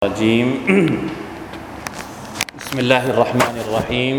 الرجيم بسم الله الرحمن الرحيم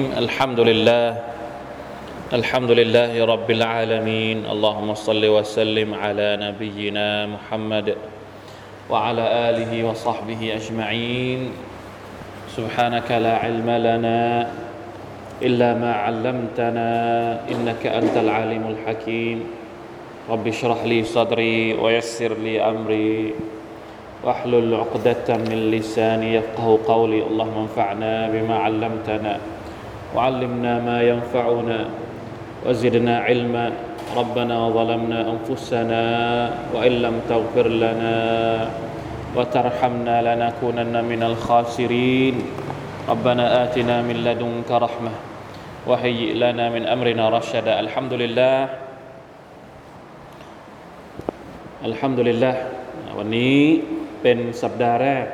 الحمد لله رب العالمين اللهم صل وسلم على نبينا محمد وعلى آله وصحبه أجمعين سبحانك لا علم لنا إلا ما علمتنا إنك أنت العليم الحكيم رب اشرح لي صدري ويسر لي أمري واحلل عقدة من لساني يفقهوا قولي اللهم انفعنا بما علمتنا وعلمنا ما ينفعنا وزدنا علما ربنا ظلمنا أنفسنا وإن لم تغفر لنا وترحمنا لنكونن من الخاسرين ربنا آتنا من لدنك رحمة وهيئ لنا من أمرنا رشدا الحمد للهวันนี้เป็นสัปดาห์แรก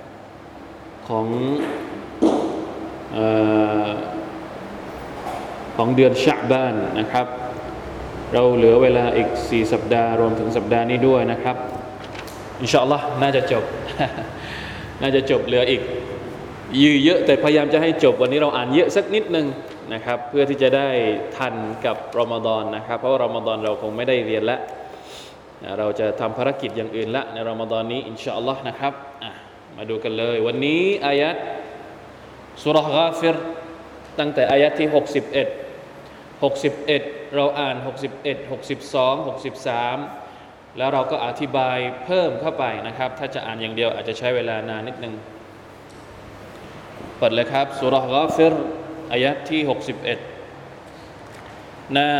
ของเดือนชะบานนะครับเราเหลือเวลาอีก4สัปดาห์รวมถึงสัปดาห์นี้ด้วยนะครับอินชาอัลลอฮ์น่าจะจบ น่าจะจบเหลืออีกเยอะแต่พยายามจะให้จบวันนี้เราอ่านเยอะสักนิดนึงนะครับเพื่อที่จะได้ทันกับรอมฎอนนะครับเพราะว่ารอมฎอนเราคงไม่ได้เรียนแล้วเราจะทำภารกิจอย่างอื่นละในรอมฎอนนี้อินชาอัลลอฮ์นะครับมาดูกันเลยวันนี้อายะห์ซูเราะห์ฆาฟิรตั้งแต่อายะห์ที่61เราอ่าน61 62 63แล้วเราก็อธิบายเพิ่มเข้าไปนะครับถ้าจะอ่านอย่างเดียวอาจจะใช้เวลานานนิดนึงเปิดเลยครับซูเราะห์ฆาฟิรอายะห์ที่61หน้า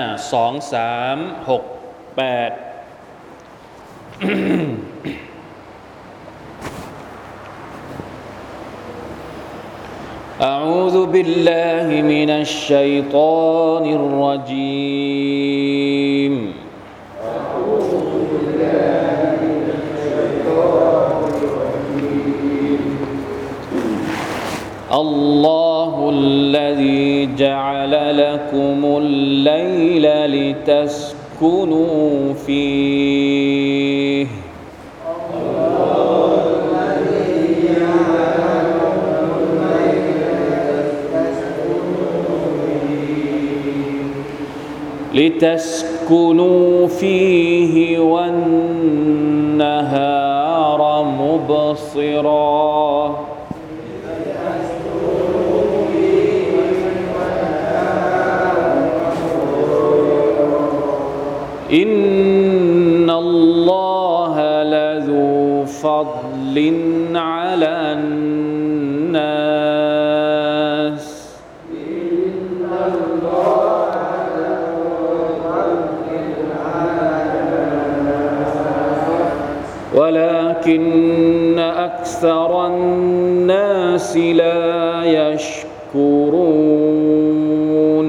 2368أعوذ بالله من الشيطان الرجيم الله الذي جعل لكم الليل لتسكنوا فيه لتسكنوا فيه والنهار مبصرا إن الله لذو فضل على الناس ولكن أكثر الناس لا يشكرون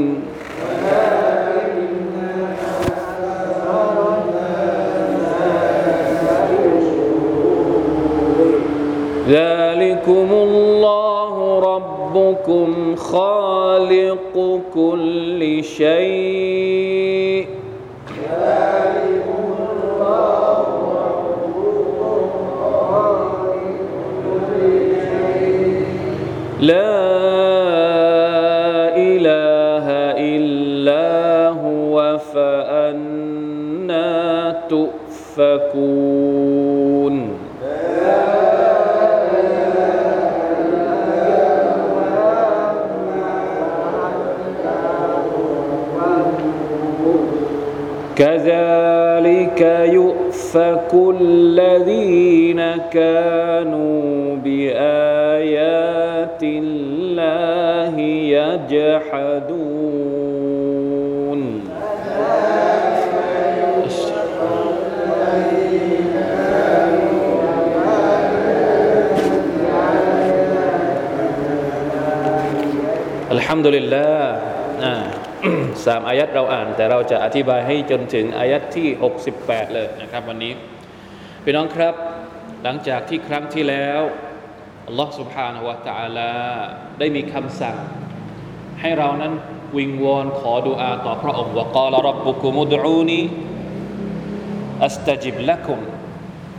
ذلكم الله ربكم خالق كل شيء لا إله إلا هو فأنى تؤفكون كذلك يؤفك الذين كانوا بآيات الله يجحدون الحمد لله 3อายัดเราอ่านแต่เราจะอธิบายให้จนถึงอายัดที่68เลยนะครับวันนี้พี่น้องครับหลังจากที่ครั้งที่แล้วอัลลอฮฺ سبحانه และ تعالى ได้มีคำสั่งให้เรานั้นวิงวอนขอดุอาต่อพระองค์ว่า قال ربكم ادعوني อัสตะจิบละกุม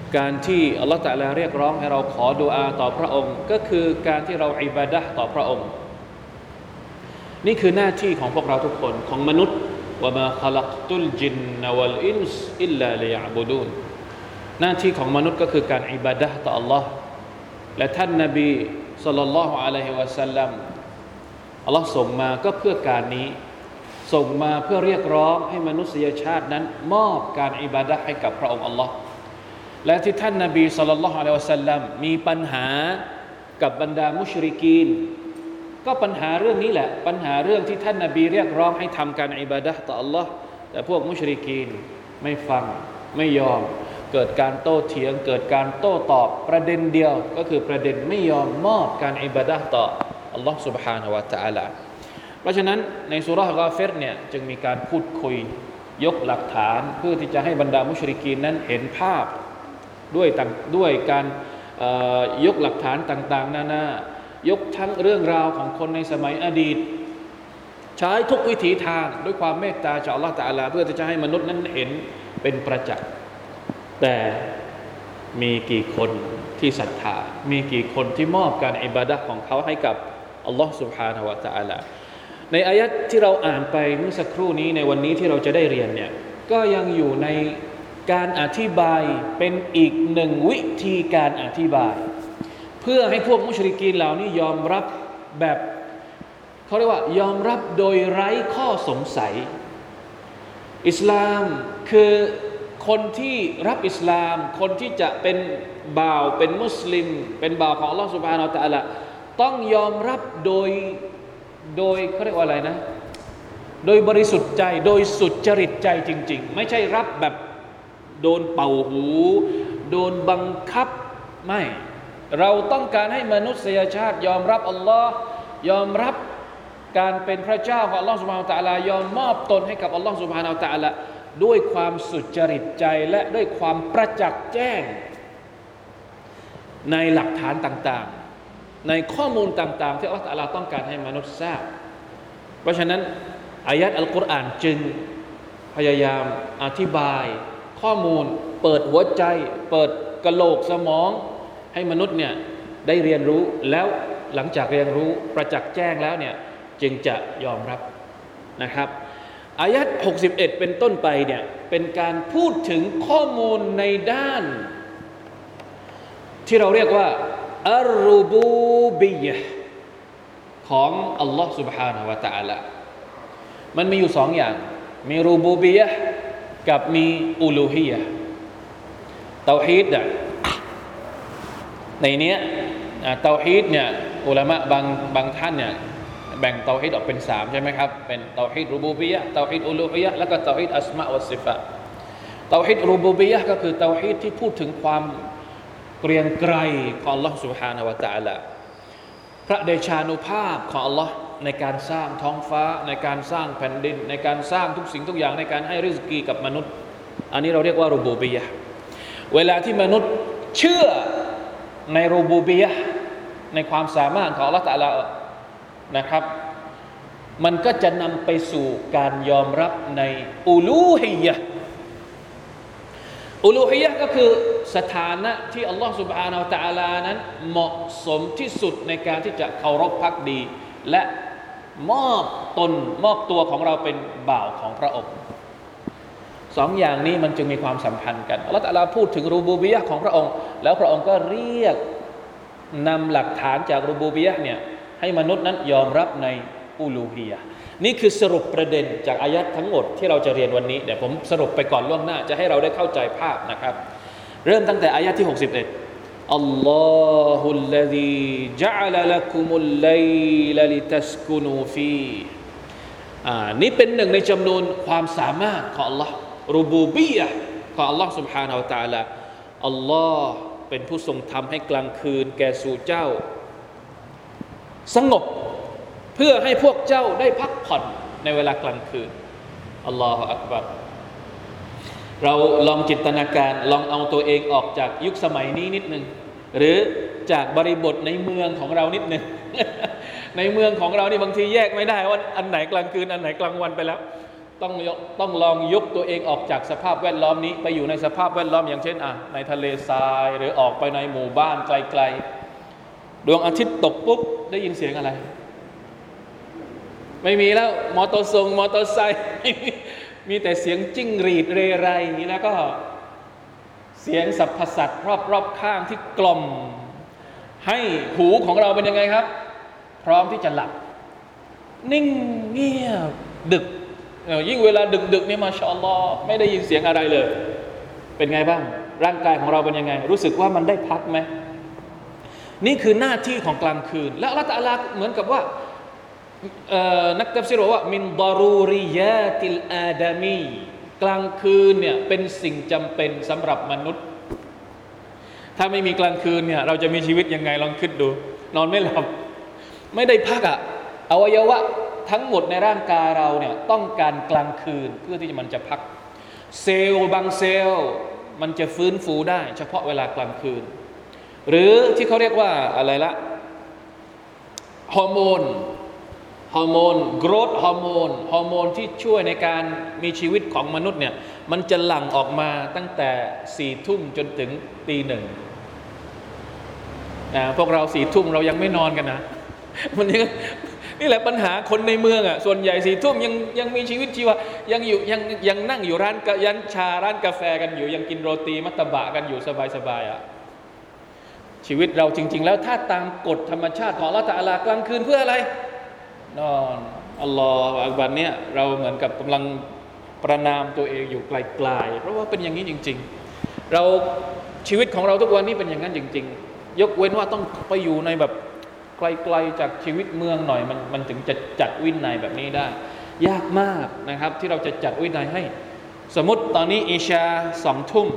การที่อัลลอฮฺตะอาลาเรียกร้องให้เราขอดุอาต่อพระองค์ก็คือการที่เราอิบาดะห์ต่อพระองค์นี่คือหน้าที่ของพวกเราทุกคนของมนุษย์วะมาคอลักตุลจินนวัลอินส์อิลลาลิยะบุดูนหน้าที่ของมนุษย์ก็คือการอิบาดะห์ต่ออัลลอฮ์และท่านนบีศ็อลลัลลอฮุอะลัยฮิวะซัลลัมอัลลอฮ์ส่งมาก็เพื่อการนี้ส่งมาเพื่อเรียกร้องให้มนุษยชาตินั้นมอบการอิบาดะห์ให้กับพระองค์อัลลอฮ์และที่ท่านนบีศ็อลลัลลอฮุอะลัยฮิวะซัลลัมมีปัญหากับบรรดามุชริกีนก็ปัญหาเรื่องนี้แหละปัญหาเรื่องที่ท่านนบีเรียกร้องให้ทำการอิบาดะห์ต่ออัลลอฮ์แต่พวกมุชริกีนไม่ฟังไม่ยอมเกิดการโต้เถียงเกิดการโต้ตอบประเด็นเดียวก็คือประเด็นไม่ยอมมอบการอิบาดะห์ต่ออัลลอฮ์ سبحانه และ تعالى เพราะฉะนั้นในซูเราะห์กอฟิรเนี่ยจึงมีการพูดคุยยกหลักฐานเพื่อที่จะให้บรรดามุชริกีนนั้นเห็นภาพด้วยการยกหลักฐานต่างๆนานายกทั้งเรื่องราวของคนในสมัยอดีตใช้ทุกวิถีทางด้วยความเมตตาจากอัลเลาะห์ตะอาลาเพื่อที่จะให้มนุษย์นั้นเห็นเป็นประจักษ์แต่มีกี่คนที่ศรัทธามีกี่คนที่มอบการอิบาดะห์ของเขาให้กับอัลลอฮ์ سبحانه และ تعالى ในอายะห์ที่เราอ่านไปเมื่อสักครู่นี้ในวันนี้ที่เราจะได้เรียนเนี่ยก็ยังอยู่ในการอธิบายเป็นอีกหนึ่งวิธีการอธิบายเพื่อให้พวกมุชริกีนเหล่านี้ยอมรับแบบเขาเรียกว่ายอมรับโดยไร้ข้อสงสัยอิสลามคือคนที่รับอิสลามคนที่จะเป็นบ่าวเป็นมุสลิมเป็นบ่าวของอัลลอฮฺ سبحانه และ تعالى ต้องยอมรับโดยเขาเรียกว่าอะไรนะโดยบริสุทธิ์ใจโดยสุจริตใจจริงๆไม่ใช่รับแบบโดนเป่าหูโดนบังคับไม่เราต้องการให้มนุษยชาติยอมรับอัลลอฮ์ยอมรับการเป็นพระเจ้าของอัลลอฮ์ سبحانه และ تعالى ยอมมอบตนให้กับอัลลอฮ์ سبحانه และ تعالى ด้วยความสุจริตใจและด้วยความประจักษ์แจ้งในหลักฐานต่างๆในข้อมูลต่างๆที่อัลลอฮ์ تعالى ต้องการให้มนุษย์ทราบเพราะฉะนั้นอายะห์อัลกุรอานจึงพยายามอธิบายข้อมูลเปิดหัวใจเปิดกะโหลกสมองให้มนุษย์เนี่ยได้เรียนรู้แล้วหลังจากเรียนรู้ประจักษ์แจ้งแล้วเนี่ยจึงจะยอมรับนะครับอายะห์61เป็นต้นไปเนี่ยเป็นการพูดถึงข้อมูลในด้านที่เราเรียกว่าอัรรูบูบิยะห์ของอัลลอฮ์ سبحانه และ تعالى มันมีอยู่สองอย่างมีรูบูบิยะห์กับมีอูลูฮียะห์เตาฮีดในเนี้ยเตาฮีดเนี่ยอุลามะบางท่านเนี่ยแบ่งเตาฮีดออกเป็น3ใช่ไหมครับเป็นเตาฮีดรูบูบิยะห์เตาฮีดอูลูฮียะห์แล้วก็เตาฮีดอัสมาอ์วัสซิฟาตเตาฮีดรูบูบิยะห์ก็คือเตาฮีดที่พูดถึงความเกรียงไกรของอัลลอฮ์ سبحانه และ تعالى พระเดชานุภาพของอัลลอฮ์ในการสร้างท้องฟ้าในการสร้างแผ่นดินในการสร้างทุกสิ่งทุกอย่างในการให้ริสกีกับมนุษย์อันนี้เราเรียกว่ารูบูบิยะห์เวลาที่มนุษย์เชื่อในรูบูบิยะห์ในความสามารถของอัลลอฮ์ تعالى นะครับมันก็จะนำไปสู่การยอมรับในอูลูฮียะห์อูลูฮียะห์ก็คือสถานะที่อัลลอฮ์ سبحانه และ تعالى นั้นเหมาะสมที่สุดในการที่จะเคารพภักดีและมอบตัวของเราเป็นบ่าวของพระองค์สองอย่างนี้มันจึงมีความสัมพันธ์กันอัลลอฮ์ تعالى พูดถึงรูบูบิยะห์ของพระองค์แล้วพระองค์ก็เรียกนำหลักฐานจากรูบูบิยะห์เนี่ยให้มนุษย์นั้นยอมรับในอูลูฮียะห์นี่คือสรุปประเด็นจากอายะห์ทั้งหมดที่เราจะเรียนวันนี้เดี๋ยวผมสรุปไปก่อนล่วงหน้าจะให้เราได้เข้าใจภาพนะครับเริ่มตั้งแต่อายะห์ที่61อัลลอฮุลลซีญะอะละละกุมุลไลลาลิตัสกุนูฟีนี่เป็นหนึ่งในจำนวนความสามารถของอัลลอฮ์รูบูบิยะห์ของอัลลอฮ์ سبحانه และ تعالى อัลลอฮ์เป็นผู้ทรงทำให้กลางคืนแก่สู่เจ้าสงบเพื่อให้พวกเจ้าได้พักผ่อนในเวลากลางคืนอัลลอฮฺอักบัรเราลองจินตนาการลองเอาตัวเองออกจากยุคสมัยนี้นิดนึงหรือจากบริบทในเมืองของเรานิดนึง ในเมืองของเรานี่บางทีแยกไม่ได้ว่าอันไหนกลางคืนอันไหนกลางวันไปแล้วต้องลองยกตัวเองออกจากสภาพแวดล้อมนี้ไปอยู่ในสภาพแวดล้อมอย่างเช่นในทะเลทรายหรือออกไปในหมู่บ้านไกลๆดวงอาทิตย์ตกปุ๊บได้ยินเสียงอะไรไม่มีแล้วมอเตอร์ไซค์มีแต่เสียงจิ้งหรีดเรไรแล้วก็เสียงสรรพสัตว์รอบๆข้างที่กล่อมให้หูของเราเป็นยังไงครับพร้อมที่จะหลับนิ่งเงียบดึกยิ่งเวลาดึกๆนี่มาชาอัลลอฮ์ไม่ได้ยินเสียงอะไรเลยเป็นไงบ้างร่างกายของเราเป็นยังไงรู้สึกว่ามันได้พักไหมนี่คือหน้าที่ของกลางคืนและอัลเลาะห์ตะอาลาเหมือนกับว่านักตัฟซีรบอกว่ามินดารูริยาติลอาดามีกลางคืนเนี่ยเป็นสิ่งจำเป็นสำหรับมนุษย์ถ้าไม่มีกลางคืนเนี่ยเราจะมีชีวิตยังไงลองคิดดูนอนไม่หลับไม่ได้พักอวัยวะทั้งหมดในร่างกายเราเนี่ยต้องการกลางคืนเพื่อที่มันจะพักเซลล์บางเซลล์มันจะฟื้นฟูได้เฉพาะเวลากลางคืนหรือที่เขาเรียกว่าอะไรละฮอร์โมนโกรทฮอร์โมนที่ช่วยในการมีชีวิตของมนุษย์เนี่ยมันจะหลั่งออกมาตั้งแต่4 ทุ่มจนถึงตี 1พวกเรา4 ทุ่มเรายังไม่นอนกันนะมันนี่แหละปัญหาคนในเมืองส่วนใหญ่4 ทุ่มยังมีชีวิตชีวายังนั่งอยู่ร้านยันชาร้านกาแฟกันอยู่ยังกินโรตีมัตตบะกันอยู่สบายชีวิตเราจริงๆแล้วถ้าตามกฎธรรมชาติของอัลเลาะห์ตะอาลากลางคืนเพื่ออะไรนอนอัลลอฮฺอักบัรเนี่ยเราเหมือนกับกำลังประนามตัวเองอยู่ไกลๆเพราะว่าเป็นอย่างนี้จริงๆเราชีวิตของเราทุกวันนี้เป็นอย่างนั้นจริงๆยกเว้นว่าต้องไปอยู่ในแบบไกลๆจากชีวิตเมืองหน่อยมันถึงจะจัดวินัยแบบนี้ได้ยากมากนะครับที่เราจะจัดวินัยให้สมมติตอนนี้อิชา2 ทุ่ม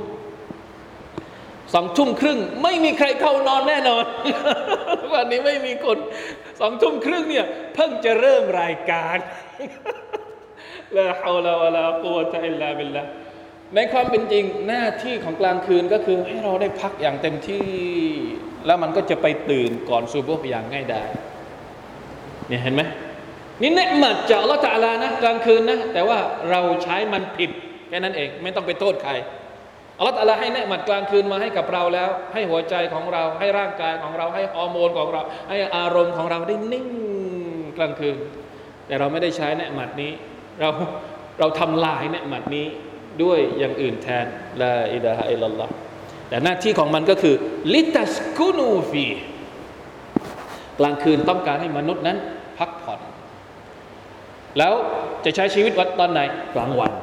2 ทุ่มครึ่งไม่มีใครเข้านอนแน่นอนวันนี้ไม่มีคน2 ทุ่มครึ่งเนี่ยเพิ่งจะเริ่มรายการลาฮาวลาวะลากุวะตะอิลลาบิลลาห์ในความเป็นจริงหน้าที่ของกลางคืนก็คือให้เราได้พักอย่างเต็มที่แล้วมันก็จะไปตื่นก่อนซุบฮ์อย่างง่ายดายเนี่ยเห็นไหมนี่เนืมัดจากอัลเลาะห์ตะอาลานะกลางคืนนะแต่ว่าเราใช้มันผิดแค่นั้นเองไม่ต้องไปโทษใครอัลเลาะห์ตะอาลาให้เนืมัดกลางคืนมาให้กับเราแล้วให้หัวใจของเราให้ร่างกายของเราให้ฮอร์โมนของเราให้อารมณ์ของเราได้นิ่งกลางคืนแต่เราไม่ได้ใช้เนืมัดนี้เราทำลายเนืมัดนี้ด้วยอย่างอื่นแทนลาอิลาฮะอิลลัลลอฮ์แต่หน้าที่ของมันก็คือลิตัสกุนูฟีกลางคืนต้องการให้มนุษย์นั้นพักผ่อนแล้วจะใช้ชีวิตตอนไหนกลางวัน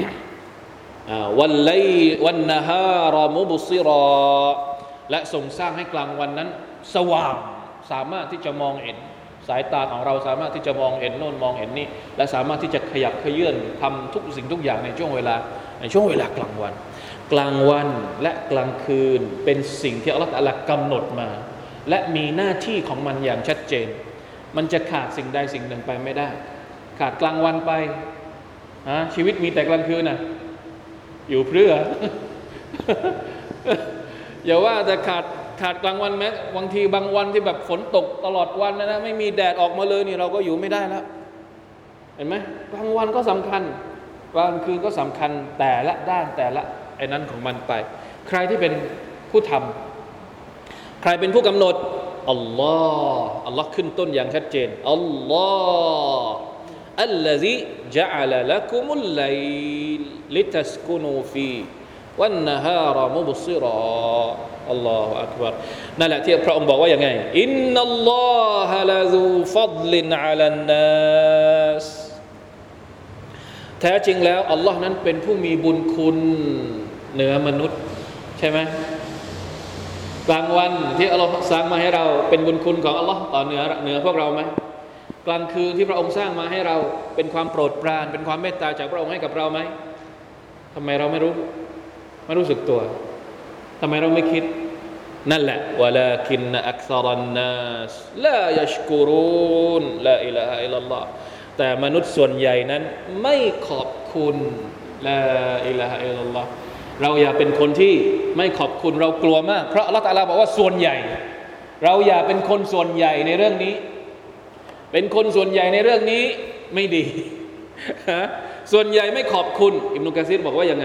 วันนะฮารมุบซิรอและทรงสร้างให้กลางวันนั้นสว่างสามารถที่จะมองเห็นสายตาของเราสามารถที่จะมองเห็นโน่นมองเห็นนี่และสามารถที่จะขยับเขยื่อนทำทุกสิ่งทุกอย่างในช่วงเวลากลางวันและกลางคืนเป็นสิ่งที่อัลเลาะห์ตะอาลากำหนดมาและมีหน้าที่ของมันอย่างชัดเจนมันจะขาดสิ่งใดสิ่งหนึ่งไปไม่ได้ขาดกลางวันไปชีวิตมีแต่กลางคืนอยู่เพื่อ อย่าว่าแต่ขาดกลางวันแม้บางทีบางวันที่แบบฝนตกตลอดวันนะไม่มีแดดออกมาเลยนี่เราก็อยู่ไม่ได้แล้วเห็นไหมกลางวันก็สำคัญกลางคืนก็สำคัญแต่ละด้านแต่ละไอ้นั้นของมันไปใครที่เป็นผู้ทำใครเป็นผู้กำหนดอัลลอฮ์ขึ้นต้นอย่างชัดเจนอัลลอฮ์อัลลซีจะอัลละกุมุลไลลิตัสกุนูฟีวันนะฮารมุบซิรออัลลอฮฺอักบัรนั่นแหละที่พระองค์บอกว่าอย่างไงอินนัลลอฮะละซูฟัฎลินอะลันนัสแท้จริงแล้วอัลลอฮ์นั้นเป็นผู้มีบุญคุณเหนือมนุษย์ใช่ไหมกลางวันที่อัลลอฮ์สร้างมาให้เราเป็นบุญคุณของอัลลอฮ์ต่อเหนือพวกเราไหมกลางคืนที่พระองค์สร้างมาให้เราเป็นความโปรดปรานเป็นความเมตตาจากพระองค์ให้กับเราไหมทำไมเราไม่รู้สึกตัวทำไมเราไม่คิดนั่นแหละวะลาคินอักษรันนัสลายัชกุรูนลาอิลาฮะอิลลัลลอฮ์แต่มนุษย์ส่วนใหญ่นั้นไม่ขอบคุณลาอิลาฮะอิลลัลลอฮ์เราอย่าเป็นคนที่ไม่ขอบคุณเรากลัวมากเพราะอัลเลาะห์ตะอาลาบอกว่าส่วนใหญ่เราอย่าเป็นคนส่วนใหญ่ในเรื่องนี้เป็นคนส่วนใหญ่ในเรื่องนี้ไม่ดีส่วนใหญ่ไม่ขอบคุณอิบนุกะซีรบอกว่ายังไง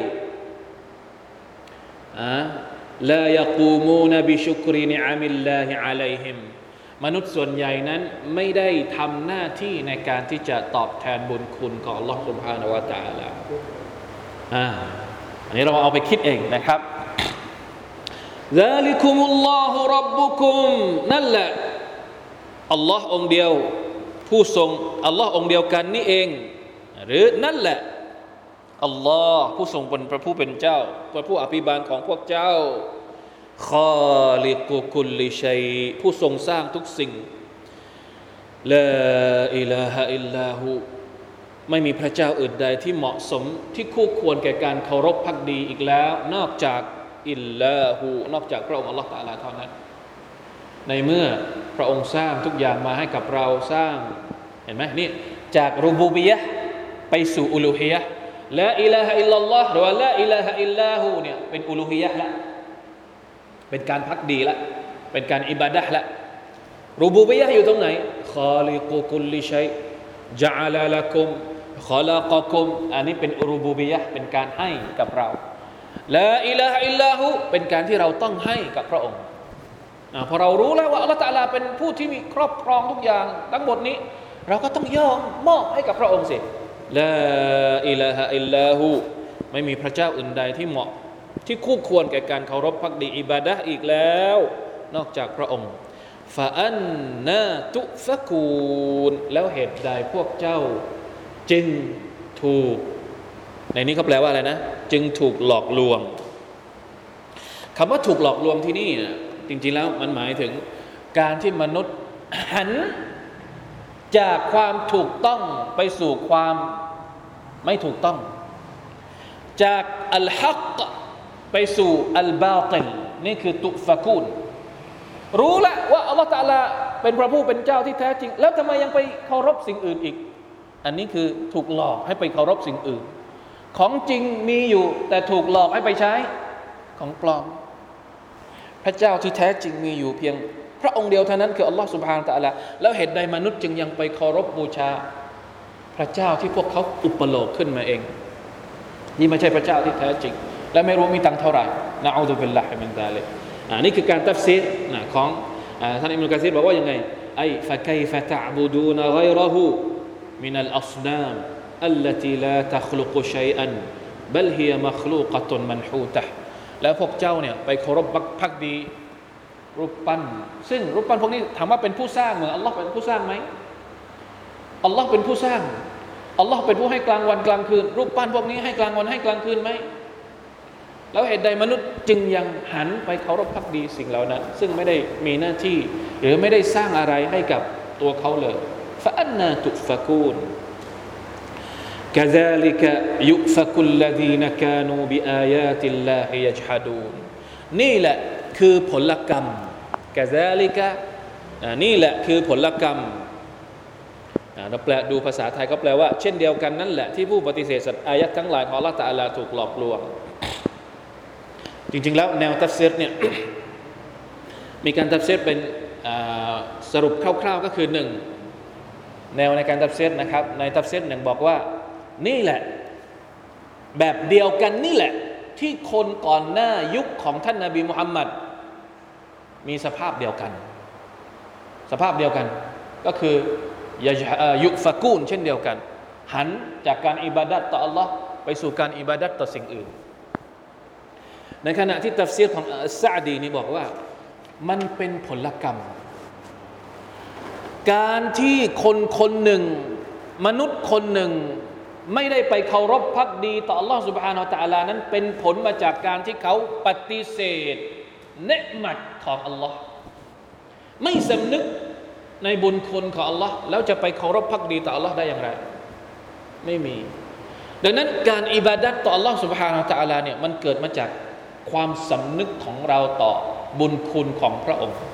ลายกูมูนบิชุกรินิอามิลลาฮิอะลัยฮิมมนุษย์ส่วนใหญ่นั้นไม่ได้ทำหน้าที่ในการที่จะตอบแทนบุญคุณของอัลลอฮฺซุบฮานะฮูวะตะอาลาอันนี้เราเอาไปคิดเองนะครับซาลิกุมุลลอฮุร็อบบุกุมนั่นแหละอัลลอฮ์องเดียวผู้ทรงอัลลอฮ์องเดียวกันนี่เองหรือนั่นแหละอัลลอฮ์ผู้ทรงเป็นพระผู้เป็นเจ้าพระผู้อภิบาลของพวกเจ้าคอลิกุคุลลิชัยผู้ทรงสร้างทุกสิ่งลาอิลาฮะอิลลาฮูไม่มีพระเจ้าอื่นใดที่เหมาะสมที่คู่ควรแก่การเคารพภักดีอีกแล้วนอกจากอิลลาฮูนอกจากพระองค์อัลลอฮฺตะอาลาเท่านั้นในเมื่อพระองค์สร้างทุกอย่างมาให้กับเราสร้างเห็นไหมนี่จากรูบูบิยะห์ไปสู่อุลูฮียะห์ลาอิลาฮะอิลลัลลอฮ์หรือว่าลาอิลาฮะอิลลาฮูเนี่ยเป็นอุลูฮียะห์ละเป็นการภักดีละเป็นการอิบาดะห์ละรูบูบิยะห์อยู่ตรงไหนคอลิกุคุลลิชัยญะอะลาละกุมคอลากะกุมอันนี้เป็นรูบูบิยะห์เป็นการให้กับเราลาอิลาฮะอิลลาฮูเป็นการที่เราต้องให้กับพระองค์พอเรารู้แล้วว่าอัลเลาะห์ตะอาลาเป็นผู้ที่มีครอบครองทุกอย่างทั้งหมดนี้เราก็ต้องยอมมอบให้กับพระองค์สิลาอิลาฮะอิลลาฮูไม่มีพระเจ้าอื่นใดที่เหมาะที่คู่ควรแก่การเคารพภักดีอิบาดะห์อีกแล้วนอกจากพระองค์ฟะอันนาตุฟะกูนแล้วเหตุใดพวกเจ้าจึงถูกในนี้เขาแปลว่าอะไรนะจึงถูกหลอกลวงคำว่าถูกหลอกลวงที่นี่จริงๆแล้วมันหมายถึงการที่มนุษย์หันจากความถูกต้องไปสู่ความไม่ถูกต้องจากอัลฮักไปสู่อัลบาติลนี่คือตุฟะกูนรู้แล้วว่าอัลลอฮฺตะอาลาเป็นพระผู้เป็นเจ้าที่แท้จริงแล้วทำไมยังไปเคารพสิ่งอื่นอีกอันนี้คือถูกหลอกให้ไปเคารพสิ่งอื่นของจริงมีอยู่แต่ถูกหลอกให้ไปใช้ของปลอมพระเจ้าที่แท้จริงมีอยู่เพียงพระองค์เดียวเท่านั้นคืออัลลอฮฺซุบฮานะฮูวะตะอาลาแล้วเหตุใดมนุษย์จึงยังไปเคารพบูชาพระเจ้าที่พวกเขาอุปโลกขึ้นมาเองนี่ไม่ใช่พระเจ้าที่แท้จริงและไม่รู้มีตังค์เท่าไหร่นะอูซุบิลลาฮิมินซาลิกนี่คือการตัฟซีรของท่านอิบนุกะซีรบอกว่ายังไงไอฟะกัยฟะตะอ์บุดูนฆอยเราะฮูมินัลอัศนามอัลลตีลาตัคลุกุชัยอันบัลฮิยะมัคลูกะตุนมันฮูตะห์แล้วพวกเจ้าเนี่ยไปเคารพภักดีรูปปั้นซึ่งรูปปั้นพวกนี้ถามว่าเป็นผู้สร้างเหมือนอัลลอฮ์เป็นผู้สร้างไหมอัลลอฮ์เป็นผู้สร้างอัลลอฮ์เป็นผู้ให้กลางวันกลางคืนรูปปั้นพวกนี้ให้กลางวันให้กลางคืนไหมแล้วเหตุใดมนุษย์จึงยังหันไปเคารพภักดีสิ่งเหล่านั้นซึ่งไม่ได้มีหน้าที่หรือไม่ได้สร้างอะไรให้กับตัวเขาเลยฟะอันนาตุฟะกูนكذلك يؤفك الذين كانوا بآيات الله يجحدون นี่แหละคือผลกรรม كذلك นี่แหละคือผลกรรมเราแปลดูภาษาไทยก็แปลว่าเช่นเดียวกันนั่นแหละที่ผู้ปฏิเสธอายะห์ทั้งหลายของอัลเลาะห์ตะอาลาถูกหลอกลวงจริงๆแล้วแนวตัฟซีรเนี่ย มีการตัฟซีรเป็นสรุปคร่าวๆก็คือ1แนวในการตัฟซีรนะครับในตัฟซีรหนึ่งบอกว่านี่แหละแบบเดียวกันนี่แหละที่คนก่อนหน้ายุคของท่านนบีมุฮัมมัดมีสภาพเดียวกันก็คือยุฟะกูนเช่นเดียวกันหันจากการอิบาดัตต่ออัลลอฮ์ไปสู่การอิบาดัตต่อสิ่งอื่นในขณะที่ตัฟซีรของอัสซะอ์ดีนี่บอกว่ามันเป็นผลกรรมการที่คนหนึ่งมนุษย์คนหนึ่งไม่ได้ไปเคารพภักดีต่ออัลลอฮฺ سبحانه และ تعالى นั้นเป็นผลมาจากการที่เขาปฏิเสธเนืมัตของอัลลอฮ์ไม่สำนึกในบุญคุณของอัลลอฮ์แล้วจะไปเคารพภักดีต่ออัลลอฮ์ได้อย่างไรไม่มีดังนั้นการอิบาดัตต่ออัลลอฮ์ سبحانه และ تعالى เนี่ยมันเกิดมาจากความสำนึกของเราต่อบุญคุณของพระองค์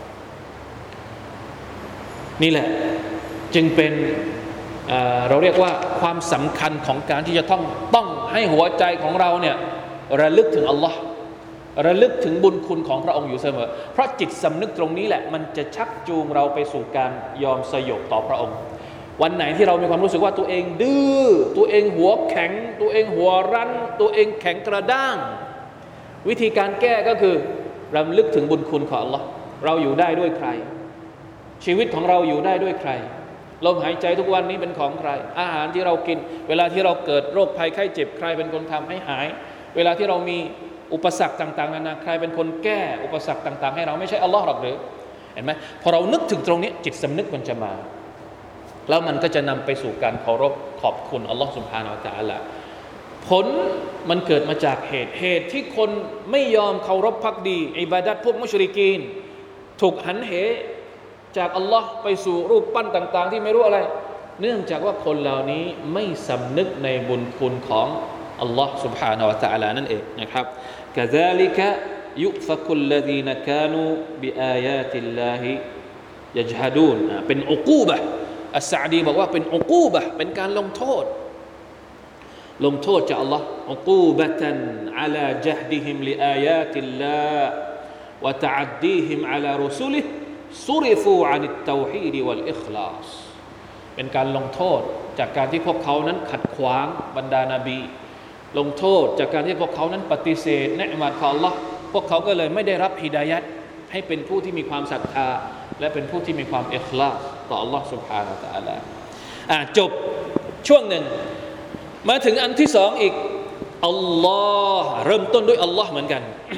นี่แหละจึงเป็นเราเรียกว่าความสำคัญของการที่จะต้องให้หัวใจของเราเนี่ยระลึกถึงอัลลอฮ์ระลึกถึงบุญคุณของพระองค์อยู่เสมอเพราะจิตสำนึกตรงนี้แหละมันจะชักจูงเราไปสู่การยอมสยบต่อพระองค์วันไหนที่เรามีความรู้สึกว่าตัวเองดื้อตัวเองหัวแข็งตัวเองหัวรั้นตัวเองแข็งกระด้างวิธีการแก้ก็คือรำลึกถึงบุญคุณของ Allah เราอยู่ได้ด้วยใครชีวิตของเราอยู่ได้ด้วยใครลมหายใจทุกวันนี้เป็นของใครอาหารที่เรากินเวลาที่เราเกิดโรคภัยไข้เจ็บใครเป็นคนทำให้หายเวลาที่เรามีอุปสรรคต่างๆนานาใครเป็นคนแก้อุปสรรคต่างๆให้เราไม่ใช่อัลลอฮ์หรอกหรือเห็นไหมพอเรานึกถึงตรงนี้จิตสำนึกมันจะมาแล้วมันก็จะนำไปสู่การเคารพขอบคุณอัลลอฮ์ซุบฮานะฮูวะตะอาลาผลมันเกิดมาจากเหตุที่คนไม่ยอมเคารพภักดีอิบาดัตพวกมุชริกีนถูกหันเหจากอัลลอฮ์ไปสู่รูปปั้นต่างๆที่ไม่รู้อะไรเนื่องจากว่าคนเหล่านี้ไม่สำนึกในบุญคุณของอัลลอฮ์ سبحانه และ تعالى นั่นเองนะครับ كذلك يؤفك الذين كانوا بآيات الله يجحدون เป็นอุกูบะห์อัสซะอดีบอกว่าเป็นอุกูบะห์เป็นการลงโทษจากอัลลอฮ์อุกูบะตันอะลาญะฮดิฮิมลิอายาติลลาฮ์วะตะอัดดีฮิมอะลารุซุลิฮิซุริฟูอานิตเตาฮีดวัลอิคลาสเป็นการลงโทษจากการที่พวกเขานั้นขัดขวางบรรดานบีลงโทษจากการที่พวกเขานั้นปฏิเสธเนืมัตของ Allah พวกเขาก็เลยไม่ได้รับฮิดายัตให้เป็นผู้ที่มีความศรัทธาและเป็นผู้ที่มีความอิคลาสต่อ Allah سبحانه และ تعالى จบช่วงหนึ่งมาถึงอันที่สองอีกอัลลอฮ์เริ่มต้นด้วยอัลลอฮ์เหมือนกัน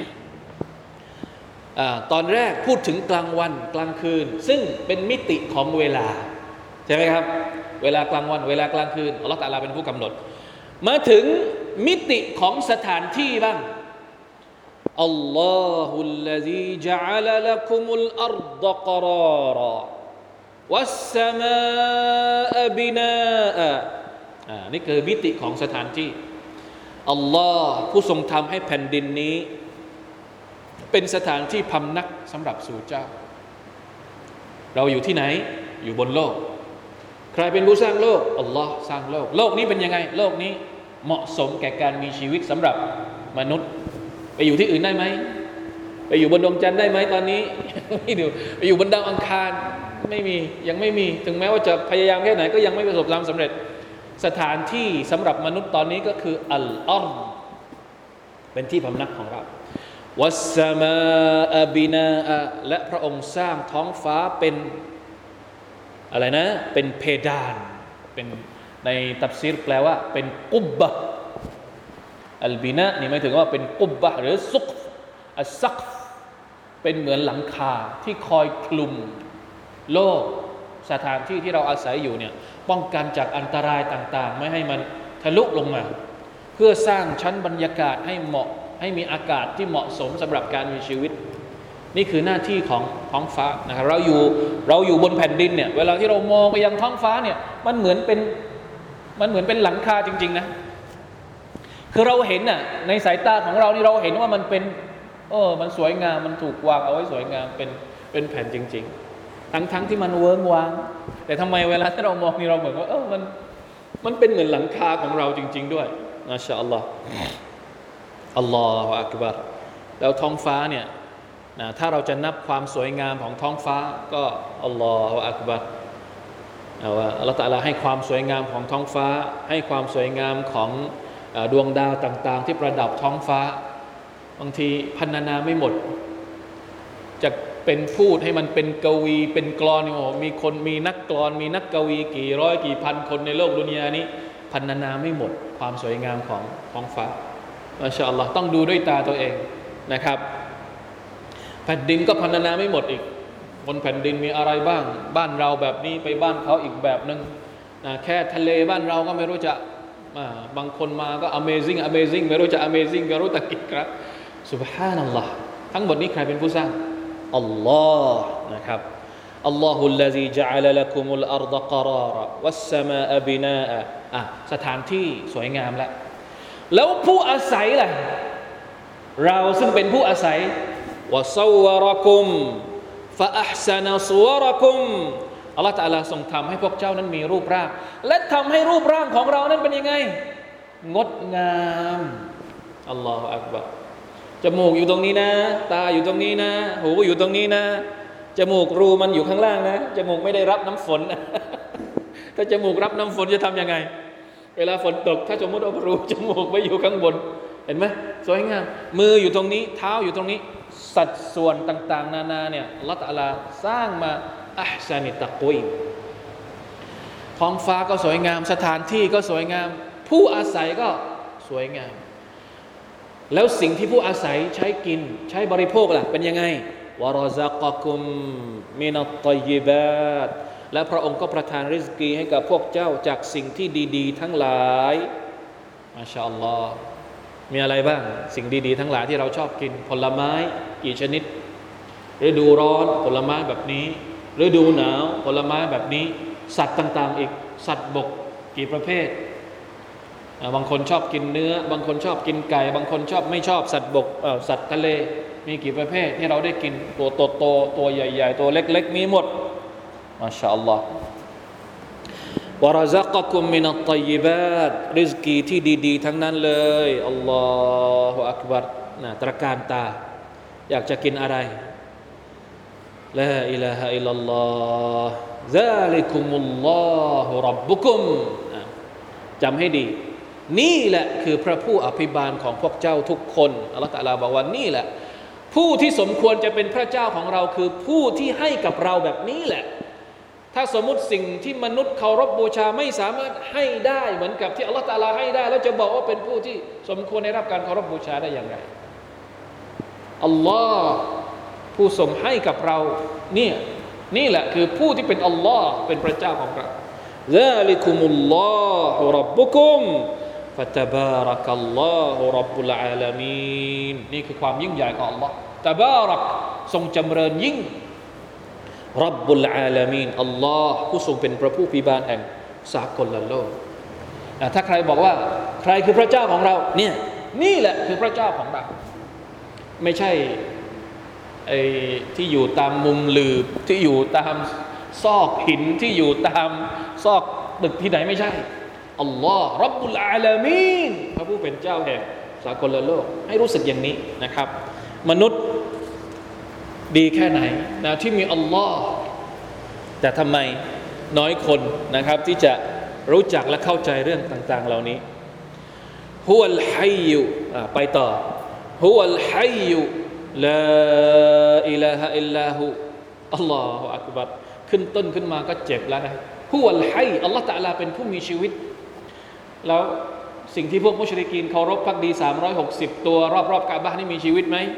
ตอนแรกพูดถึงกลางวันกลางคืนซึ่งเป็นมิติของเวลาใช่ไหมครับเวลากลางวันเวลากลางคืนอัลลอฮฺตะอาลาเป็นผู้กำหนดมาถึงมิติของสถานที่บ้างอัลลอฮุลลซีจาอะลาละกุมุลอัรฎะกะรารวัสสมาอะบินานี่คือมิติของสถานที่อัลลอฮ์ผู้ทรงทำให้แผ่นดินนี้เป็นสถานที่พำนักสำหรับสู่เจ้าเราอยู่ที่ไหนอยู่บนโลกใครเป็นผู้สร้างโลกอัลลอฮ์สร้างโลกโลกนี้เป็นยังไงโลกนี้เหมาะสมแก่การมีชีวิตสำหรับมนุษย์ไปอยู่ที่อื่นได้ไหมไปอยู่บนดวงจันทร์ได้ไหมตอนนี้ไม่ดูไปอยู่บนดาวอังคารไม่มียังไม่มีถึงแม้ว่าจะพยายามแค่ไหนก็ยังไม่ประสบความสำเร็จสถานที่สำหรับมนุษย์ตอนนี้ก็คืออัลอัรฎ์เป็นที่พำนักของเราวัสสมาอะบินาอะและพระองค์สร้างท้องฟ้าเป็นอะไรนะเป็นเพดานเป็นในตัฟซีรแปลว่าเป็นกุบบะอัลบินะนี่หมายถึงว่าเป็นกุบบะหรือซุกอัสซักเป็นเหมือนหลังคาที่คอยคลุมโลกสถานที่ที่เราอาศัยอยู่เนี่ยป้องกันจากอันตรายต่างๆไม่ให้มันทะลุลงมาเพื่อสร้างชั้นบรรยากาศให้เหมาะให้มีอากาศที่เหมาะสมสำหรับการมีชีวิตนี่คือหน้าที่ของท้องฟ้านะครับเราอยู่บนแผ่นดินเนี่ยเวลาที่เรามองไปยังท้องฟ้าเนี่ยมันเหมือนเป็นหลังคาจริงๆนะคือเราเห็นน่ะในสายตาของเรานี่เราเห็นว่ามันเป็นมันสวยงามมันถูกวางเอาไว้สวยงามเป็นแผ่นจริงๆทั้งที่มันเวิ้งว้างแต่ทำไมเวลาที่เรามองนี่เราเหมือนว่ามันเป็นเหมือนหลังคาของเราจริงๆด้วยมาชาอัลลอฮ์อัลลอฮฺอักบัรแล้วท้องฟ้าเนี่ยถ้าเราจะนับความสวยงามของท้องฟ้าก็อัลลอฮฺอักบัรว่าอัลลอฮฺตะอาลาให้ความสวยงามของท้องฟ้าให้ความสวยงามของดวงดาวต่างๆที่ประดับท้องฟ้าบางทีพรรณนาไม่หมดจะเป็นพูดให้มันเป็นกวีเป็นกลอนมีนักกลอนมีนักกวีกี่ร้อยกี่พันคนในโลกดุนยานี้พรรณนาไม่หมดความสวยงามของท้องฟ้ามาชาอัลลอฮ์ต้องดูด้วยตาตัวเองนะครับแผ่นดินก็พรรณนาไม่หมดอีกบนแผ่นดินมีอะไรบ้างบ้านเราแบบนี้ไปบ้านเขาอีกแบบนึงแค่ทะเลบ้านเราก็ไม่รู้จะบางคนมาก็ amazing ไม่รู้จะ amazing ก็รู้แต่กิจครับซุบฮานัลลอฮ์ทั้งหมดนี้ใครเป็นผู้สร้างอัลลอฮ์นะครับอัลลอฮุลลซีจาอะลาละกุมุลอัรฎะกะรารวัสสมาอะบินาอะสถานที่สวยงามแล้วผู้อาศัยล่ะเราซึ่งเป็นผู้อาศัยวะซอวะรกุมฟะอัห์ซะนะซุวะรกุมอัลเลาะห์ตะอาลาทรงทำให้พวกเจ้านั้นมีรูปร่างและทำให้รูปร่างของเรานั้นเป็นยังไงงดงามอัลลอฮฺอักบัรจมูกอยู่ตรงนี้นะตาอยู่ตรงนี้นะหูอยู่ตรงนี้นะจมูกรูมันอยู่ข้างล่างนะจมูกไม่ได้รับน้ำฝนถ้าจมูกรับน้ำฝนจะทำยังไงเวลาฝนตกถ้าสมมติเอารูจมูกไปอยู่ข้างบนเห็นไหมสวยงามมืออยู่ตรงนี้เท้าอยู่ตรงนี้สัดส่วนต่างๆนานาเนี่ยอัลเลาะห์ตะอาลาสร้างมาอัพซานิตักวีมท้องฟ้าก็สวยงามสถานที่ก็สวยงามผู้อาศัยก็สวยงามแล้วสิ่งที่ผู้อาศัยใช้กินใช้บริโภคล่ะเป็นยังไงวะรอซะกะกุมมินัตฏอยยิบาตและพระองค์ก็ประทานริสกีให้กับพวกเจ้าจากสิ่งที่ดีๆทั้งหลายมาชาอัลลอฮ์มีอะไรบ้างสิ่งดีๆทั้งหลายที่เราชอบกินผลไม้กี่ชนิดฤดูร้อนผลไม้แบบนี้ฤดูหนาวผลไม้แบบนี้สัตว์ต่างๆอีกสัตว์บกกี่ประเภทบางคนชอบกินเนื้อบางคนชอบกินไก่บางคนชอบไม่ชอบสัตว์บกสัตว์ทะเลมีกี่ประเภทที่เราได้กินตัวโตๆตัวใหญ่ๆตัวเล็กๆมีหมดมาชาอัลลอฮ์วะรซักะกุมมินัตฏอยยิบาตริซกีที่ดีๆทั้งนั้นเลยอัลลอฮุอักบัรนะตระการตาอยากจะกินอะไรลาอิลาฮะอิลลัลลอฮ์ซาลิกุมุลลอฮุร็อบบุกุมจำให้ดีนี่แหละคือพระผู้อภิบาลของพวกเจ้าทุกคนอัลเลาะห์ตะอาลาบอกว่านี่แหละผู้ที่สมควรจะเป็นพระเจ้าของเราคือผู้ที่ให้กับเราแบบนี้แหละถ้าสมมุติสิ่งที่มนุษย์เคารพบูชาไม่สามารถให้ได้เหมือนกับที่อัลเลาะห์ตะอาลาให้ได้แล้วจะบอกว่าเป็นผู้ที่สมควรได้รับการเคารพบูชาได้อย่างไรอัลลอฮ์ผู้ทรงให้กับเราเนี่ยนี่แหละคือผู้ที่เป็นอัลลอฮ์เป็นพระเจ้าของเราซาลิกุมุลลอฮุร็อบบุกุมฟะตะบารักัลลอฮุร็อบบุลอาลามีนนี่คือความยิ่งใหญ่ของอัลลอฮ์ตะบารักทรงจำเริญยิ่งร็อบบุลอาลามีนอัลลอฮ์ผู้ทรงเป็นพระผู้อภิบาลแห่งสากลโลกถ้าใครบอกว่าใครคือพระเจ้าของเราเนี่ยนี่แหละคือพระเจ้าของเราไม่ใช่ไอ้ที่อยู่ตามมุมหลืบที่อยู่ตามซอกหินที่อยู่ตามซอกตึกที่ไหนไม่ใช่อัลลอฮ์ร็อบบุลอาลามีนพระผู้เป็นเจ้าแห่งสากลโลกให้รู้สึกอย่างนี้นะครับมนุษย์ดีแค่ไหนนะที่มีอัลลอฮ์แต่ทำไมน้อยคนนะครับที่จะรู้จักและเข้าใจเรื่องต่างๆเหล่านี้ฮุวัลฮัยยุไปต่อฮุวัลฮัยยุลาอิลาฮะอิลลาฮูอัลลอฮฺอักบัรขึ้นต้นขึ้นมาก็เจ็บแล้วนะฮุวัลฮัยอัลลอฮฺตะอาลาเป็นผู้มีชีวิตแล้วสิ่งที่พวกมุชริกีนเคารพภักดี360ตัวรอบๆกะบะห์นี่มีชีวิตไหม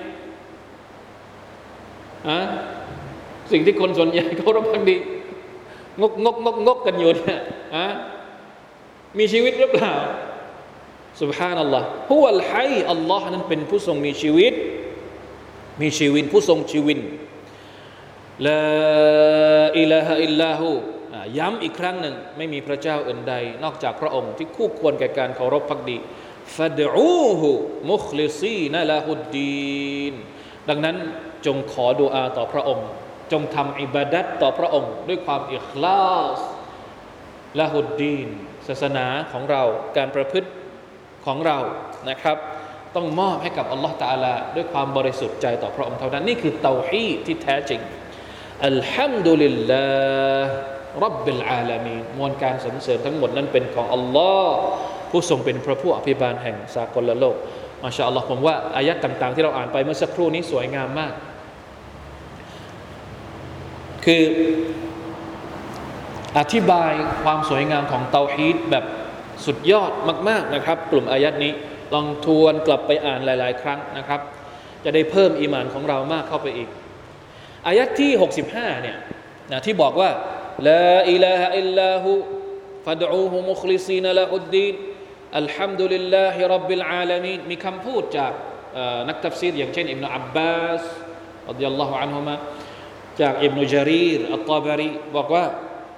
สิ่งที่คนส่วนใหญ่เคารพภักดีงกกันอยู่เนี่ยมีชีวิตหรือเปล่าซุบฮานัลลอฮ์ฮุวัลฮัยอัลลอฮ์นั้นเป็นผู้ทรงมีชีวิตผู้ทรงชีวิตลาอิลาฮะอิลลาฮูย้ำอีกครั้งหนึ่งไม่มีพระเจ้าอื่นใดนอกจากพระองค์ที่คู่ควรแก่การเคารพภักดีฟัดอูฮูมุคลิซีนละฮุดดีนดังนั้นจงขอดุอาต่อพระองค์จงทำอิบาดัตต่อพระองค์ด้วยความอิคลาสละฮุดดีนศาสนาของเราการประพฤติของเรานะครับต้องมอบให้กับอัลลอฮฺตะอาลาด้วยความบริสุทธิ์ใจต่อพระองค์เท่านั้นนี่คือเตาฮีดที่แท้จริงอัลฮัมดุลิลลาห์ร็อบบิลอาลามีนมวลการสรรเสริญทั้งหมดนั้นเป็นของอัลลอฮ์ผู้ทรงเป็นพระผู้อภิบาลแห่งสากลโลกมาชาอัลลอฮ์ผมว่าอายะห์ต่างๆที่เราอ่านไปเมื่อสักครู่นี้สวยงามมากคืออธิบายความสวยงามของเตาฮีดแบบสุดยอดมากๆนะครับกลุ่มอายะห์นี้ลองทวนกลับไปอ่านหลายๆครั้งนะครับจะได้เพิ่มอีหม่านของเรามากเข้าไปอีกอายะห์ที่65เนี่ยนะที่บอกว่าลาอิลาฮะอิลลาฮูฟัดอูฮูมุคลิซีนละฮุดดีนอัลฮัมดุลิลลาฮิร็อบบิลอาลามีนมีคำพูดจากนักตัฟซีรอย่างเช่นอิบนุอับบาสรอฎิยัลลอฮุอันฮุมะจากอิบนุญะรีรอัตฏอบารีบอกว่า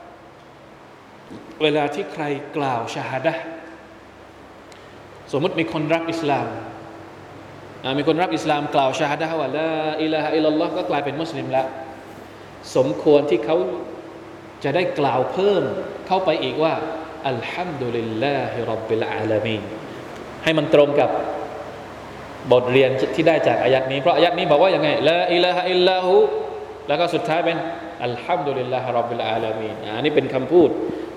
เวลาที่ใครกล่าวชะฮาดะห์สมมติมีคนรับอิสลามมีคนรับอิสลามกล่าวชะฮาดะห์ว่าลาอิลาฮะอิลลัลลอฮ์ก็กลายเป็นมุสลิมแล้วสมควรที่เขาจะได้กล่าวเพิ่มเข้าไปอีกว่าอัลฮัมดุลิลลาฮิร็อบบิลอาลามีนให้มันตรงกับบทเรียนที่ได้จากอายัดนี้เพราะอายัดนี้บอกว่าอย่างไงลาอิลาฮะอิลลาฮูแล้วก็สุดท้ายเป็นอัลฮัมดุลิลลาฮิร็อบบิลอาลามีนอันนี้เป็นคำพูด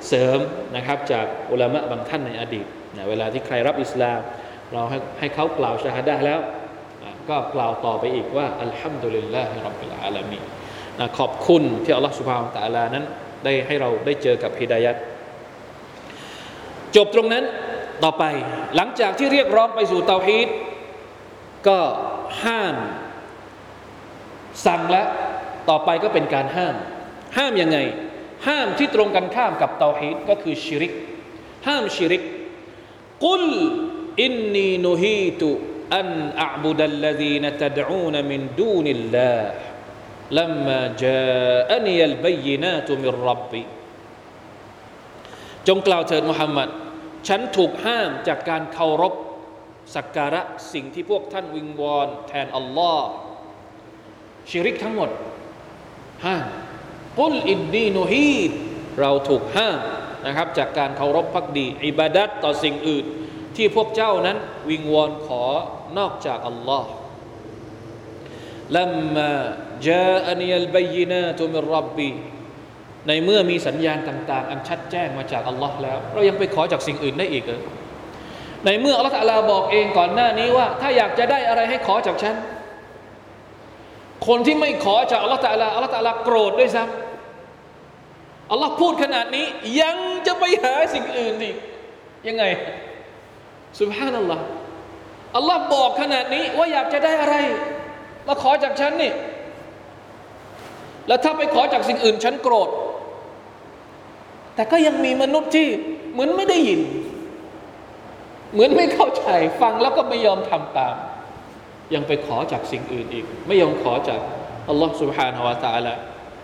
เสริมนะครับจากอุลามะบางท่านในอดีตนะเวลาที่ใครรับอิสลามเราให้เขากล่าวชะฮาดะห์แล้วก็กล่าวต่อไปอีกว่าอัลฮัมดุลิลลาฮิร็อบบิลอาลามีนขอบคุณที่อัลลอฮฺซุบฮานะฮูวะตะอาลานั้นได้ให้เราได้เจอกับฮิดายะห์จบตรงนั้นต่อไปหลังจากที่เรียกร้องไปสู่เตาฮีดก็ห้ามสั่งแล้วต่อไปก็เป็นการห้ามยังไงห้ามที่ตรงกันข้ามกับเตาฮีดก็คือชิริกห้ามชิริกกุลอินนีนุฮีตุอันอับุดัลลซีนตะดอูนมินดูนิลลาห์ลัมมาจาอะนียัลบัยนาตุมิรร็อบบีจงกล่าวเถิดมุฮัมมัดฉันถูกห้ามจากการเคารพสักการะสิ่งที่พวกท่านวิงวอนแทนอัลลอฮ์ชิริกทั้งหมดห้ามกุลอินนีนุฮีดเราถูกห้ามนะครับจากการเคารพภักดีอิบาดัตต่อสิ่งอื่นที่พวกเจ้านั้นวิงวอนขอนอกจากอัลลอฮ์ลัมมาจาอะนียัลบัยนาตุมิรร็อบบีในเมื่อมีสัญญาณต่างๆอันชัดแจ้งมาจากอัลลอฮ์แล้วเรายังไปขอจากสิ่งอื่นได้อีกเหรอในเมื่ออัลลอฮ์ตะอาลาบอกเองก่อนหน้านี้ว่าถ้าอยากจะได้อะไรให้ขอจากฉันคนที่ไม่ขอจากอัลลอฮ์ตะอาลาอัลลอฮ์ตะอาลาโกรธด้วยซ้ำอัลลอฮ์พูดขนาดนี้ยังจะไปหาสิ่งอื่นอีกยังไงซุบฮานัลลอฮ์อัลลอฮ์บอกขนาดนี้ว่าอยากจะได้อะไรมาขอจากฉันนี่แล้วถ้าไปขอจากสิ่งอื่นฉันโกรธแต่ก็ยังมีมนุษย์ที่เหมือนไม่ได้ยินเหมือนไม่เข้าใจฟังแล้วก็ไม่ยอมทำตามยังไปขอจากสิ่งอื่นอีกไม่ยอมขอจากอัลลอฮ์ سبحانه และ تعالى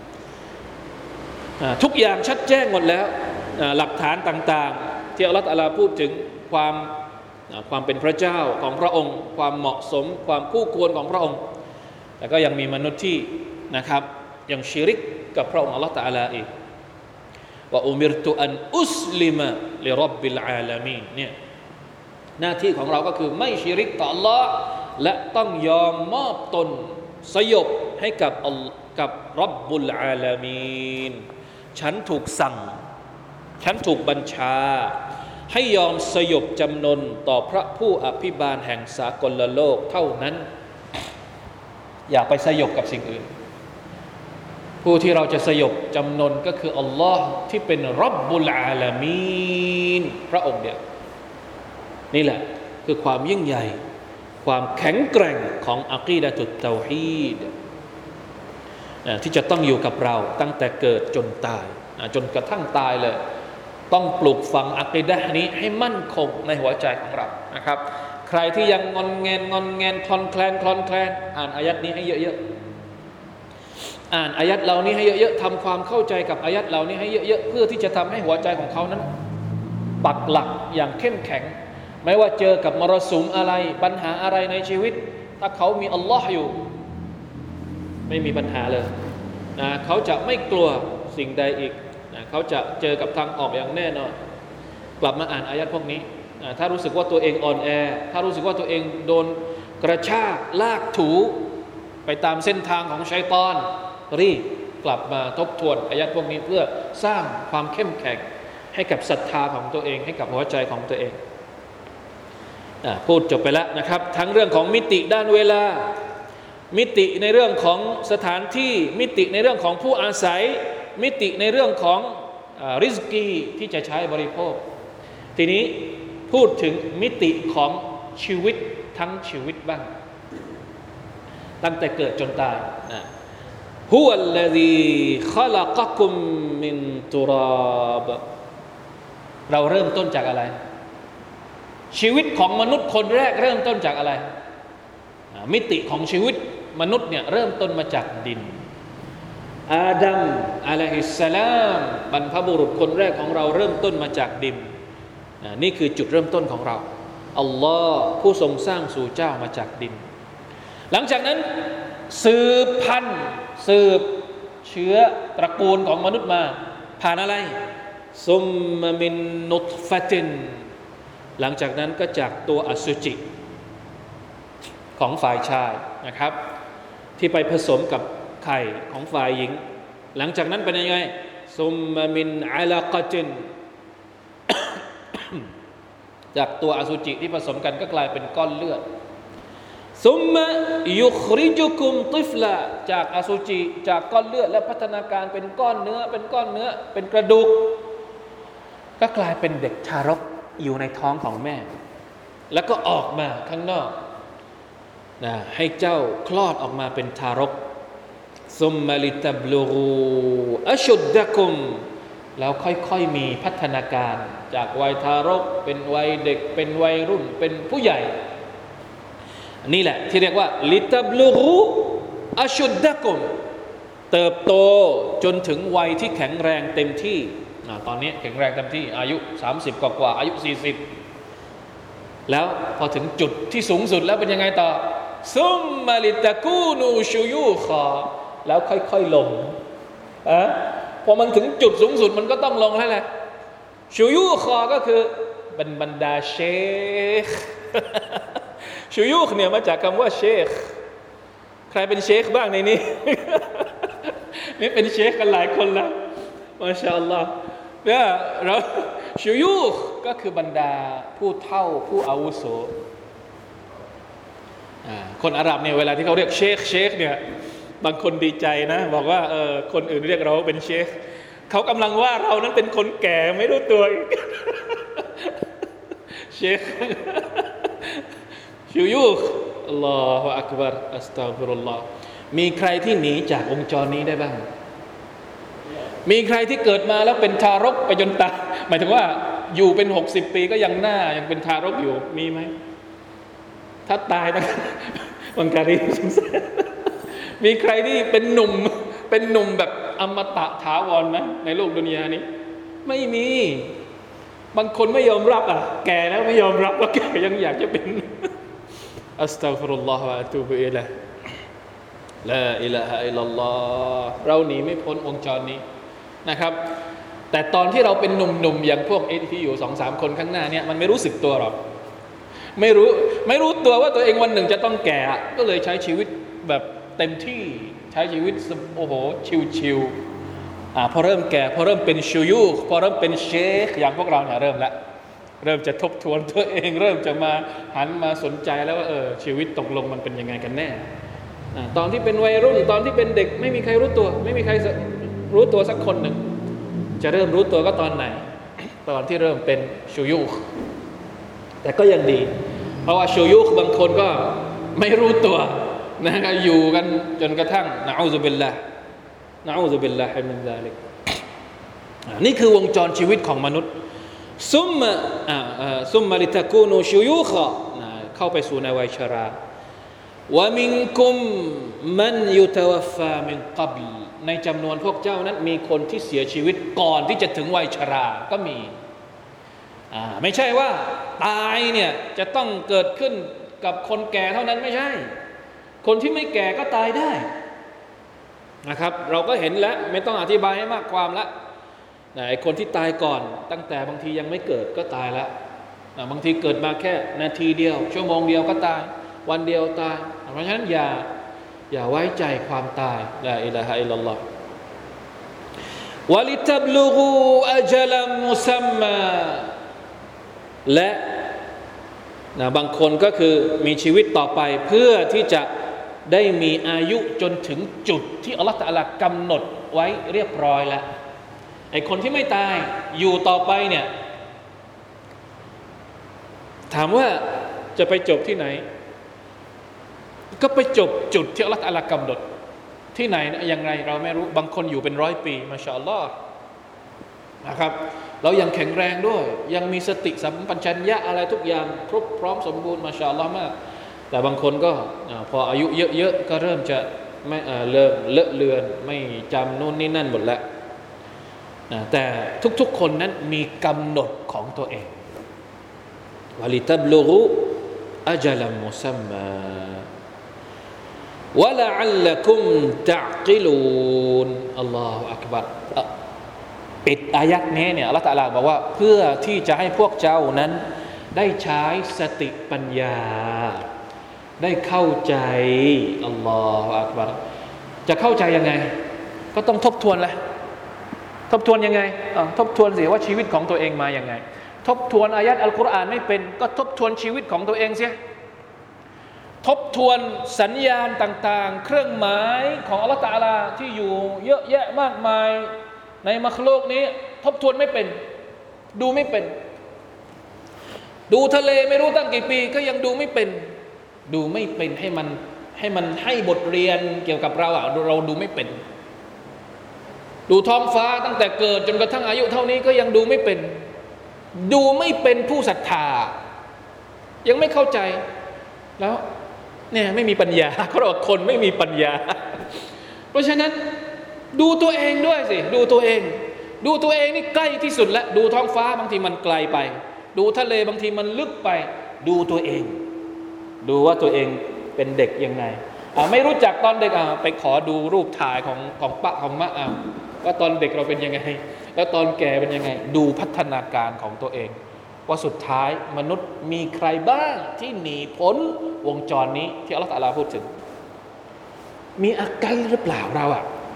ทุกอย่างชัดแจ้งหมดแล้วหลักฐานต่างๆที่อัลลอฮ์ تعالى พูดถึงความเป็นพระเจ้าของพระองค์ความเหมาะสมความคู่ควรของพระองค์แต่ก็ยังมีมนุษย์ที่นะครับยังชิริกกับพระองค์อัลลอฮ์ تعالى อีกว่าอุมิรตุอันอุสลิมะลิร็อบบิลอาลามีนเนี่ยหน้าที่ของเราก็คือไม่ชิริกต่ออัลลอฮ์และต้องยอมมอบตนสยบให้กับร็อบบุลอาลามีนฉันถูกสั่งฉันถูกบัญชาให้ยอมสยบจำนนต่อพระผู้อภิบาลแห่งสากลโลกเท่านั้นอย่าไปสยบกับสิ่งอื่นผู้ที่เราจะสยบจำนนก็คืออัลลอฮ์ที่เป็นร็อบบุลอาลามีนพระองค์เดียวนี่แหละคือความยิ่งใหญ่ความแข็งแกร่งของอะกีดะตุตเตาฮีดที่จะต้องอยู่กับเราตั้งแต่เกิดจนตายจนกระทั่งตายเลยต้องปลูกฝังอะกีดะห์นี้ให้มั่นคงในหัวใจของเรานะครับใครที่ยังงอนแงนคลอนแคลนอ่านอายัดนี้ให้เยอะๆอ่านอายัดเหล่านี้ให้เยอะๆทำความเข้าใจกับอายัดเหล่านี้ให้เยอะๆเพื่อที่จะทำให้หัวใจของเขานั้นปักหลักอย่างเข้มแข็งไม่ว่าเจอกับมรสุมอะไรปัญหาอะไรในชีวิตถ้าเขามีอัลลอฮ์อยู่ไม่มีปัญหาเลยนะเขาจะไม่กลัวสิ่งใดอีกนะเขาจะเจอกับทางออกอย่างแน่นอนกลับมาอ่านอายัดพวกนี้นะถ้ารู้สึกว่าตัวเองอ่อนแอถ้ารู้สึกว่าตัวเองโดนกระชากลากถูไปตามเส้นทางของชัยฏอนรีบกลับมาทบทวนอายัดพวกนี้เพื่อสร้างความเข้มแข็งให้กับศรัทธาของตัวเองให้กับหัวใจของตัวเองพูดจบไปแล้วนะครับทั้งเรื่องของมิติด้านเวลามิติในเรื่องของสถานที่มิติในเรื่องของผู้อาศัยมิติในเรื่องของริสกีที่จะใช้บริโภคทีนี้พูดถึงมิติของชีวิตทั้งชีวิตบ้างตั้งแต่เกิดจนตายฮุวัลลซีคอลักะกุมมินตุราบเราเริ่มต้นจากอะไรชีวิตของมนุษย์คนแรกเริ่มต้นจากอะไรมิติของชีวิตมนุษย์เนี่ยเริ่มต้นมาจากดินอาดัมอะลัยฮิสสลามบรรพบุรุษคนแรกของเราเริ่มต้นมาจากดินนี่คือจุดเริ่มต้นของเราอัลลอฮ์ผู้ทรงสร้างสู่เจ้ามาจากดินหลังจากนั้นสืบพันธุ์สืบเชื้อตระกูลของมนุษย์มาผ่านอะไรซุมมะมินนุตฟะตินหลังจากนั้นก็จากตัวอสุจิของฝ่ายชายนะครับที่ไปผสมกับไข่ของฝ่ายหญิงหลังจากนั้นเป็นยังไงซุมมะมินอะลากะตินจากตัวอสุจิที่ผสมกันก็กลายเป็นก้อนเลือดซุมมะยุคริจุกุมติฟลาจากอสุจิจากก้อนเลือดและพัฒนาการเป็นก้อนเนื้อเป็นกระดูกก็กลายเป็นเด็กทารกอยู่ในท้องของแม่แล้วก็ออกมาข้างนอกนะให้เจ้าคลอดออกมาเป็นทารกซุมมะลิตับลูกูอัชุดดะกุมแล้วค่อยๆมีพัฒนาการจากวัยทารกเป็นวัยเด็กเป็นวัยรุ่นเป็นผู้ใหญ่นี่แหละที่เรียกว่าลิตับลูกูอัชุดดะกุมเติบโตจนถึงวัยที่แข็งแรงเต็มที่ตอนนี้แข็งแรงเต็มที่อายุ30กว่าอายุ40แล้วพอถึงจุดที่สูงสุดแล้วเป็นยังไงต่อซุมมาลิตะกูนูชูยูคอแล้วค่อยๆลงพอมันถึงจุดสูงสุดมันก็ต้องลงแล้วแหละชูยูคอก็คือบรรดาเชคชูยูคเนี่ยมาจากคำว่าเชคใครเป็นเชคบ้างในนี้ นี่เป็นเชคกันหลายคนแล้วมาชาอัลลอฮ์เนี่ยเราชูยูคก็คือบรรดาผู้เฒ่าผู้อาวุโสคนอาหรับเนี่ยเวลาที่เขาเรียกเชคเนี่ยบางคนดีใจนะบอกว่าคนอื่นเรียกเราเป็นเชคเขากำลังว่าเรานั้นเป็นคนแก่ไม่รู้ตัวเชคชูยูคอัลลอฮฺอักบัรอัสตัฆฟิรุลลอฮ์มีใครที่หนีจากวงจรนี้ได้บ้างมีใครที่เกิดมาแล้วเป็นทารกไปจนตายหมายถึงว่าอยู่เป็น60 ปีก็ยังเป็นทารกอยู่มีไหมถ้าตายนะบังการีมีใครที่เป็นหนุ่มแบบอมตะถาวรไหมในโลกดุนยานี้ไม่มีบางคนไม่ยอมรับแก่แล้วไม่ยอมรับว่าแก่ยังอยากจะเป็นอัสตัฆฟิรุลลอฮฺวะอะตูบุอิลัยฮิลาอิลาฮะอิลลัลลอฮ์เราหนีไม่พ้นวงจรนี้นะครับแต่ตอนที่เราเป็นหนุ่มๆอย่างพวกที่อยู่ 2-3 คนข้างหน้าเนี่ยมันไม่รู้สึกตัวหรอกไม่รู้ตัวว่าตัวเองวันหนึ่งจะต้องแก่ก็เลยใช้ชีวิตแบบเต็มที่ใช้ชีวิตโอ้โหชิวๆพอเริ่มแก่พอเริ่มเป็นชูยูคพอเริ่มเป็นเชคอย่างพวกเราเนี่ยเริ่มจะทบทวนตัวเองเริ่มจะมาหันมาสนใจแล้วว่าชีวิตตกลงมันเป็นยังไงกันแน่ตอนที่เป็นวัยรุ่นตอนที่เป็นเด็กไม่มีใครรู้ตัวไม่มีใครรู้ตัวสักคนหนึ่งจะเริ่มรู้ตัวก็ตอนไหนตอนที่เริ่มเป็นชูยูคแต่ก็ยังดีเพราะว่าชูยูคบางคนก็ไม่รู้ตัวนะก็อยู่กันจนกระทั่งนะอูซุบิลลาห์มินซาลิกนี่คือวงจรชีวิตของมนุษย์ซุมมะลิตะกูนูชูยูคเข้าไปสู่ในวัยชราวะมินกุมมันยุตวัฟฟามินกับลในจำนวนพวกเจ้านั้นมีคนที่เสียชีวิตก่อนที่จะถึงวัยชราก็มีไม่ใช่ว่าตายเนี่ยจะต้องเกิดขึ้นกับคนแก่เท่านั้นไม่ใช่คนที่ไม่แก่ก็ตายได้นะครับเราก็เห็นแล้วไม่ต้องอธิบายให้มากความละไอ้คนที่ตายก่อนตั้งแต่บางทียังไม่เกิดก็ตายแล้วบางทีเกิดมาแค่นาทีเดียวชั่วโมงเดียวก็ตายวันเดียวตายเพราะฉะนั้นอย่าไว้ใจความตายลาอิลาฮะอิลลัลลอฮ์วะลิตับลุกูอัจลัมมุซัมมาและบางคนก็คือมีชีวิตต่อไปเพื่อที่จะได้มีอายุจนถึงจุดที่อัลลอฮฺตะอาลากำหนดไว้เรียบร้อยแล้วไอ้คนที่ไม่ตายอยู่ต่อไปเนี่ยถามว่าจะไปจบที่ไหนก็ไปจบจุดที่อัลลอฮฺตะอาลากำหนดที่ไหนอย่างไรเราไม่รู้บางคนอยู่เป็น100 ปีมาชาอัลลอฮ์นะครับเรายังแข็งแรงด้วยยังมีสติสัมปชัญญะอะไรทุกอย่างครบพร้อมสมบูรณ์มาชาอัลลอฮ์มากแต่บางคนก็พออายุเยอะๆก็เริ่มจะไม่เริ่มเลอะเลือนไม่จำนู่นนี่นั่นหมดแล้วแต่ทุกๆคนนั้นมีกำหนดของตัวเองวะลิตับลุกุอัจลัมมุซัมมาวะละอัลลักุมตะกิลูนอัลลอฮฺอักบัรปิดอายักนี้เนี่ยอัลเลาะห์ตะอาลาบอกว่าเพื่อที่จะให้พวกเจ้านั้นได้ใช้สติปัญญาได้เข้าใจอัลลอฮฺอักบัรจะเข้าใจยังไงก็ต้องทบทวนแหละทบทวนยังไงทบทวนสิว่าชีวิตของตัวเองมายังไงทบทวนอายัดอัลกุรอานไม่เป็นก็ทบทวนชีวิตของตัวเองเสียทบทวนสัญญาณต่างๆเครื่องหมายของอัลลอฮฺตะอาลาที่อยู่เยอะแยะมากมายในมัคลุกนี้ทบทวนไม่เป็นดูไม่เป็นดูทะเลไม่รู้ตั้งกี่ปีก็ยังดูไม่เป็นดูไม่เป็นให้มันให้บทเรียนเกี่ยวกับเราเราดูไม่เป็นดูท้องฟ้าตั้งแต่เกิดจนกระทั่งอายุเท่านี้ก็ยังดูไม่เป็นดูไม่เป็นผู้ศรัทธายังไม่เข้าใจแล้วเนี่ยไม่มีปัญญาเขาบอกคนไม่มีปัญญาเพราะฉะนั้นดูตัวเองด้วยสิดูตัวเองนี่ใกล้ที่สุดแล้วดูท้องฟ้าบางทีมันไกลไปดูทะเลบางทีมันลึกไปดูตัวเองดูว่าตัวเองเป็นเด็กยังไงไม่รู้จักตอนเด็กไปขอดูรูปถ่ายของป้าของมะว่าตอนเด็กเราเป็นยังไงแล้วตอนแก่เป็นยังไงดูพัฒนาการของตัวเองว่าสุดท้ายมนุษย์มีใครบ้างที่หนีพ้นวงจรนี้ที่อัลลอฮฺตะอาลาพูดถึงมีอากัลหรือเปล่าเรา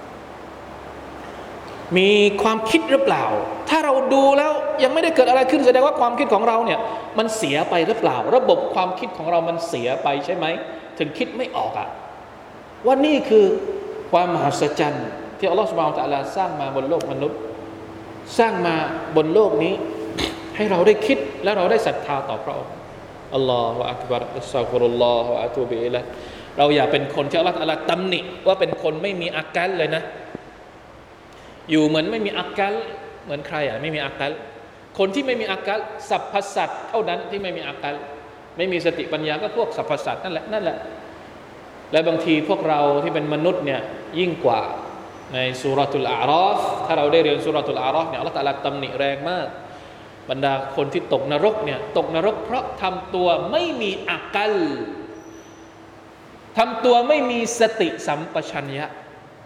มีความคิดหรือเปล่าถ้าเราดูแล้วยังไม่ได้เกิดอะไรขึ้นแสดงว่าความคิดของเราเนี่ยมันเสียไปหรือเปล่าระบบความคิดของเรามันเสียไปใช่ไหมถึงคิดไม่ออกว่านี่คือความมหัศจรรย์ที่อัลลอฮฺซุบฮานะฮูวะตะอาลาสร้างมาบนโลกมนุษย์สร้างมาบนโลกนี้ให้เราได้คิดและเราได้ศรัทธาต่อพระองค์อัลลอฮฺอักบัรอัสซาฟุรุลลอฮฺวะอะตูบิอิลัยฮิเราอย่าเป็นคนที่อัลลอฮฺตะอาลาตำหนิว่าเป็นคนไม่มีอากัลเลยนะอยู่เหมือนไม่มีอากัลเหมือนใครไม่มีอากัลคนที่ไม่มีอากัลสรรพสัตว์เท่านั้นที่ไม่มีอากัลไม่มีสติปัญญาก็พวกสรรพสัตว์นั่นแหละและบางทีพวกเราที่เป็นมนุษย์เนี่ยยิ่งกว่าในซูเราะตุลอาราฟถ้าเราได้เรียนซูเราะตุลอาราฟเนี่ยอัลเลาะห์ตะอาลาตำหนิแรงมากบรรดาคนที่ตกนรกเนี่ยตกนรกเพราะทำตัวไม่มีอากัลทำตัวไม่มีสติสัมปชัญญะ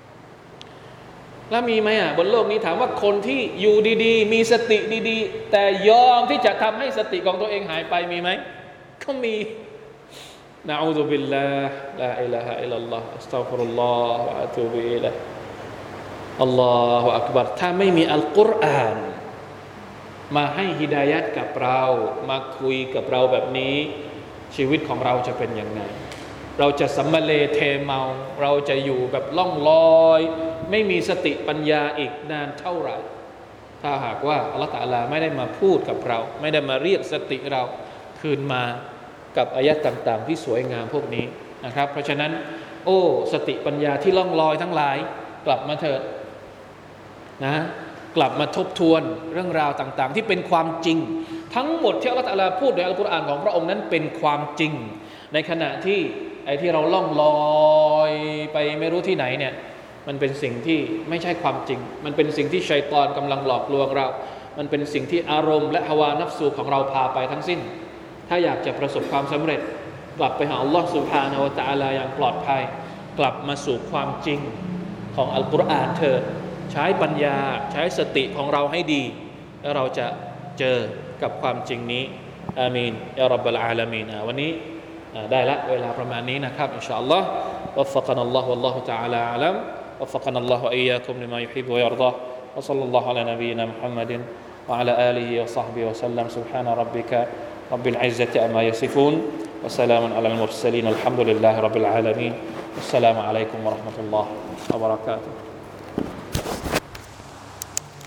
แล้วมีไหมบนโลกนี้ถามว่าคนที่อยู่ดีๆมีสติดีๆแต่ยอมที่จะทำให้สติของตัวเองหายไปมีไหมก็มีนะอูซุบิลลาฮ์ลาอิลาฮะอิลลัลลอฮ์อัสตัฆฟิรุลลอฮ์วะอะตูบิอิลัยฮิอัลลอฮุอักบัรถ้าไม่มีอัลกุรอานมาให้ฮิดายัตกับเรามาคุยกับเราแบบนี้ชีวิตของเราจะเป็นยังไงเราจะสัมมาเลเทเมาเราจะอยู่แบบล่องลอยไม่มีสติปัญญาอีกนานเท่าไหร่ถ้าหากว่าอัลเลาะห์ตะอาลาไม่ได้มาพูดกับเราไม่ได้มาเรียกสติเราคืนมากับอายะห์ต่างๆที่สวยงามพวกนี้นะครับเพราะฉะนั้นสติปัญญาที่ล่องลอยทั้งหลายกลับมาเถิดนะกลับมาทบทวนเรื่องราวต่างๆที่เป็นความจริงทั้งหมดที่อัลเลาะห์ตะอาลาพูดในอัลกุรอานของพระองค์นั้นเป็นความจริงในขณะที่ไอ้ที่เราล่องลอยไปไม่รู้ที่ไหนเนี่ยมันเป็นสิ่งที่ไม่ใช่ความจริงมันเป็นสิ่งที่ชัยฏอนกำลังหลอกลวงเรามันเป็นสิ่งที่อารมณ์และฮาวานัฟซูของเราพาไปทั้งสิ้นถ้าอยากจะประสบความสำเร็จกลับไปหาอัลลอฮฺซุบฮานะฮูวะตะอาลาอย่างปลอดภัยกลับมาสู่ความจริงของอัลกุรอานเถิดใช้ปัญญาใช้สติของเราให้ดีแล้วเราจะเจอกับความจริงนี้อามีนยาร็อบบัลอาลามีนวันนี้ได้ละเวลาประมาณนี้นะครับอินชาอัลลอฮ์วัฟฟะกะนัลลอฮุวัลลอฮุตะอาลาอะลัมวัฟฟะกะนัลลอฮุวะอียาคุมลิมายุฮิบบุวะยัรฎอวะศ็อลลัลลอฮุอะลานะบียินามุฮัมมัดวะอะลาอาลิฮิวะศ็อฮบิฮิวะซัลลัมซุบฮานะร็อบบิกะร็อบบิลอิซซะติอัมมายัซิฟูนวะสลามุนอะลัลมุรสลีนอัลฮัมดุลิลลาฮิร็อบบิลอาลามีนอัสสลามุอะลัยกุมวะเราะห์มะตุลลอฮ์วะบะเราะกาตุฮ์